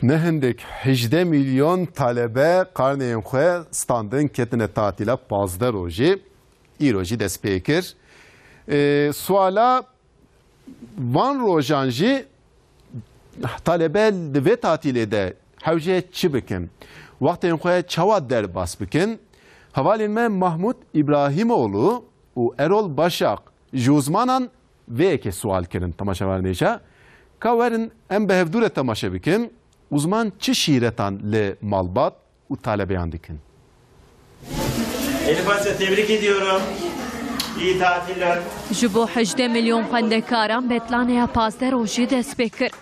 Nehendek 18 milyon talebe karneyen xwe standın ketine tatila 15 roji. İroji dest pê kir. Suala van rojan jî talebe li vê tatilê de hewce çi bikin? Wextên xwe çawa derbas bikin? Hevalên me Mahmud İbrahimoğlu û Erol Başak ji uzmanan vêyekê sual kirin temaşevanêşa. Ka werin em bi hevdûre temaşe bikin. Uzman çi şîretan li malbat û talebeyan dikin? Elif Asya tebrik ediyorum. İyi tatiller. Ji bo 18 milyon xwendekaran betlanaya 15 rojî dest pê kir.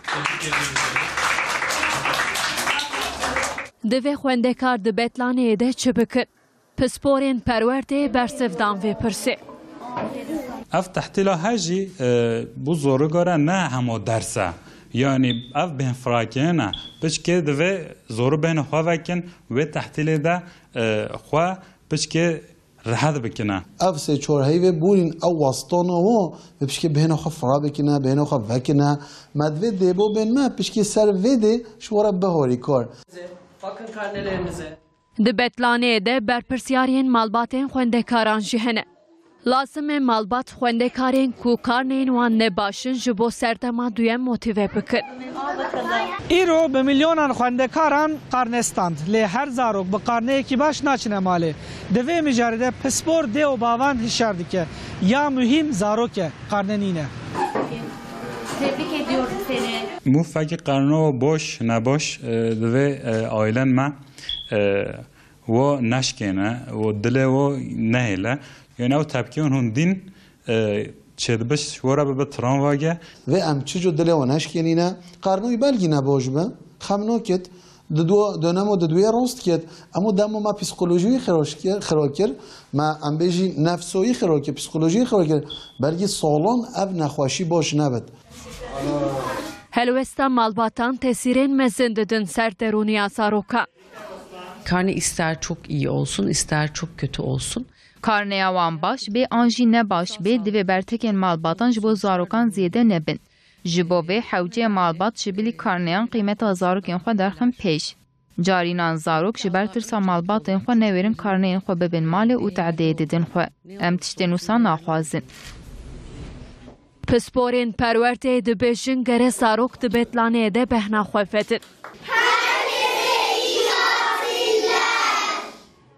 Divê xwendekar di betlaneyê de çi bikin? Pisporên perwerdê bersivdan vê pirsê. Ev tehtîla hejî bu zorugara ne hemo dersa. Yani ev bên firakiyene pişkê divê zoru bên xwe vekin wê tehtîlê de xwe pişkê rahat bikine. Ev sê çorheyvê bûrîn ew wastana ve pişkê bêhna xwe fira bikine, bêhna xwe vekine. Me divê dêbo bên me pişkê ser vê dê ji were biharî kar. Bakın karnelerinize. Di betlaneyê de berpirsyarên malbatên xwendekaran jî hene. Lazim e malbat xwendekarên ku karneyên wan nebaşin ji bo serdema duyem motive bikin. İro bi milyonan xwendekaran karnestand. Lê her zarok bi karneyekî baş naçine malê. Di vê mijarê de pispor dê û bavan hişyar dike. Ya mühim zarok e karnenîne. Tebrik ediyorum seni. Mû fekî qarno boş nebaş divê ailen me wo neşkêne û dilê wo nehêle. Yani ew tepkiyên hûn dîn çêdibiş were bibe tramvage. Ve em çi cu dilê wan heşkenîne qarnoyî belgî neboj be. Xem nakit di dönemo di duê rast ket. Emo demo me psikolojiyê xira kir. Me em bêjî nefsoyî xira kir, psikolojiyê xira kir. Belgî salan ev nexweşî baş nebit. Helwesta malbatan tesirên mezin didin ser derûniya zarokan. Karne ister çok iyi olsun, ister çok kötü olsun. Karneya wan baş bê an jî nebaş bê divê bertekên malbatan ji bo zarokan zêde nebin. Ji bo vê hewceyê malbat ji bilî karneyan qîmeta zarokên xwe derxin pêş. Carînan zarok ji ber tirsa malbatên xwe newêrin karneyên xwe bibin malê û tehdê didin xwe. Em tiştên wisa naxwazin. Pisporên perwerdê dibêjin gere zarok di betlaneyê de behna xwe vedin.